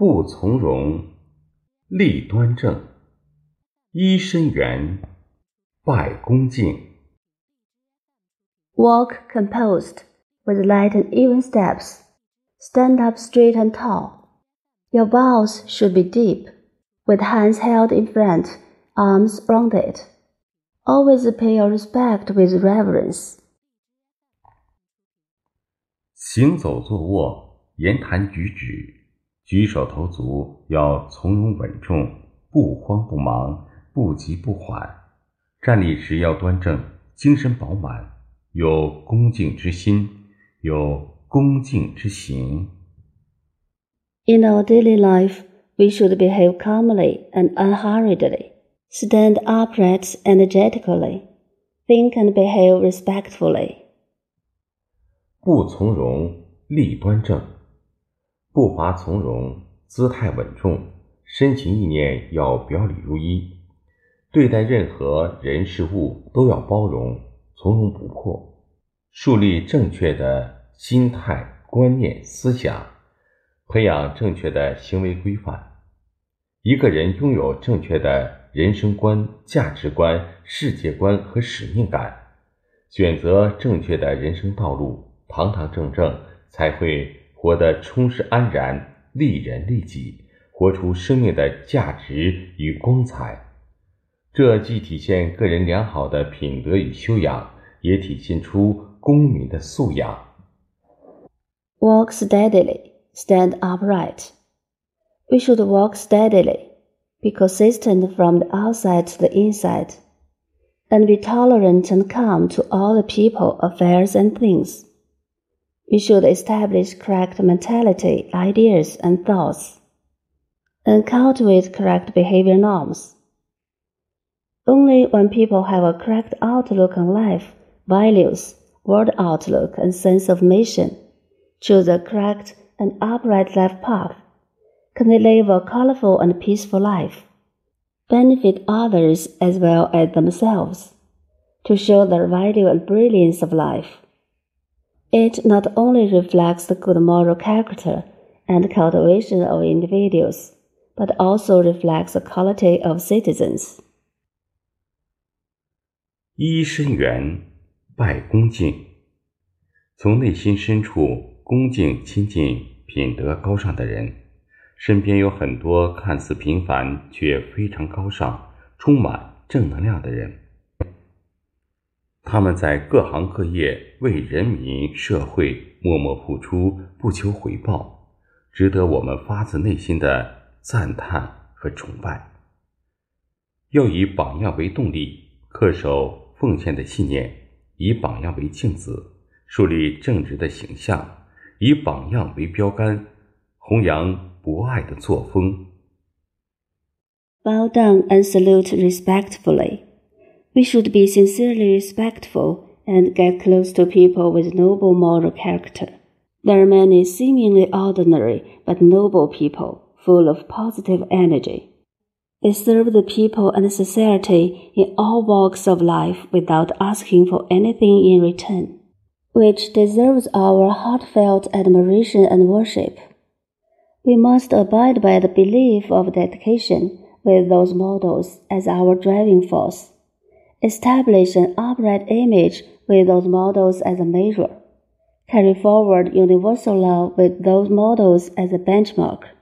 不从容，立端正，揖深圆，拜恭敬。 Walk composed, with light and even steps. Stand up straight and tall. Your bows should be deep, with hands held in front, arms rounded. Always pay your respect with reverence. 行走坐卧，言谈举止，举手投足要从容稳重，不慌不忙，不急不缓。站立时要端正，精神饱满，有恭敬之心，有恭敬之行。 In our daily life, we should behave calmly and unhurriedly, stand upright energetically, think and behave respectfully. 不从容，立端正，步伐从容，姿态稳重，身情意念要表里如一，对待任何人事物都要包容，从容不迫，树立正确的心态、观念、思想，培养正确的行为规范。一个人拥有正确的人生观、价值观、世界观和使命感，选择正确的人生道路，堂堂正正，才会活得充实安然，利人利己，活出生命的价值与光彩。这既体现个人良好的品德与修养，也体现出公民的素养。 Walk steadily, stand upright. We should walk steadily, be consistent from the outside to the inside, and be tolerant and calm to all the people, affairs, and things. We should establish correct mentality, ideas, and thoughts, and cultivate correct behavior norms. Only when people have a correct outlook on life, values, world outlook, and sense of mission, choose a correct and upright life path, can they live a colorful and peaceful life, benefit others as well as themselves, to show the value and brilliance of life. It not only reflects the good moral character and cultivation of individuals, but also reflects the quality of citizens. 揖深圆，拜恭敬。从内心深处恭敬亲近品德高尚的人，身边有很多看似平凡却非常高尚、充满正能量的人。他们在各行各业为人民社会默默付出，不求回报，值得我们发自内心的赞叹和崇拜。要以榜样为动力，恪守奉献的信念，以榜样为镜子，树立正直的形象，以榜样为标杆，弘扬博爱的作风。 Bow down and salute respectfully. We should be sincerely respectful and get close to people with noble moral character. There are many seemingly ordinary but noble people, full of positive energy. They serve the people and society in all walks of life without asking for anything in return, which deserves our heartfelt admiration and worship. We must abide by the belief of dedication with those models as our driving force, establish an upright image with those models as a measure, carry forward universal law with those models as a benchmark.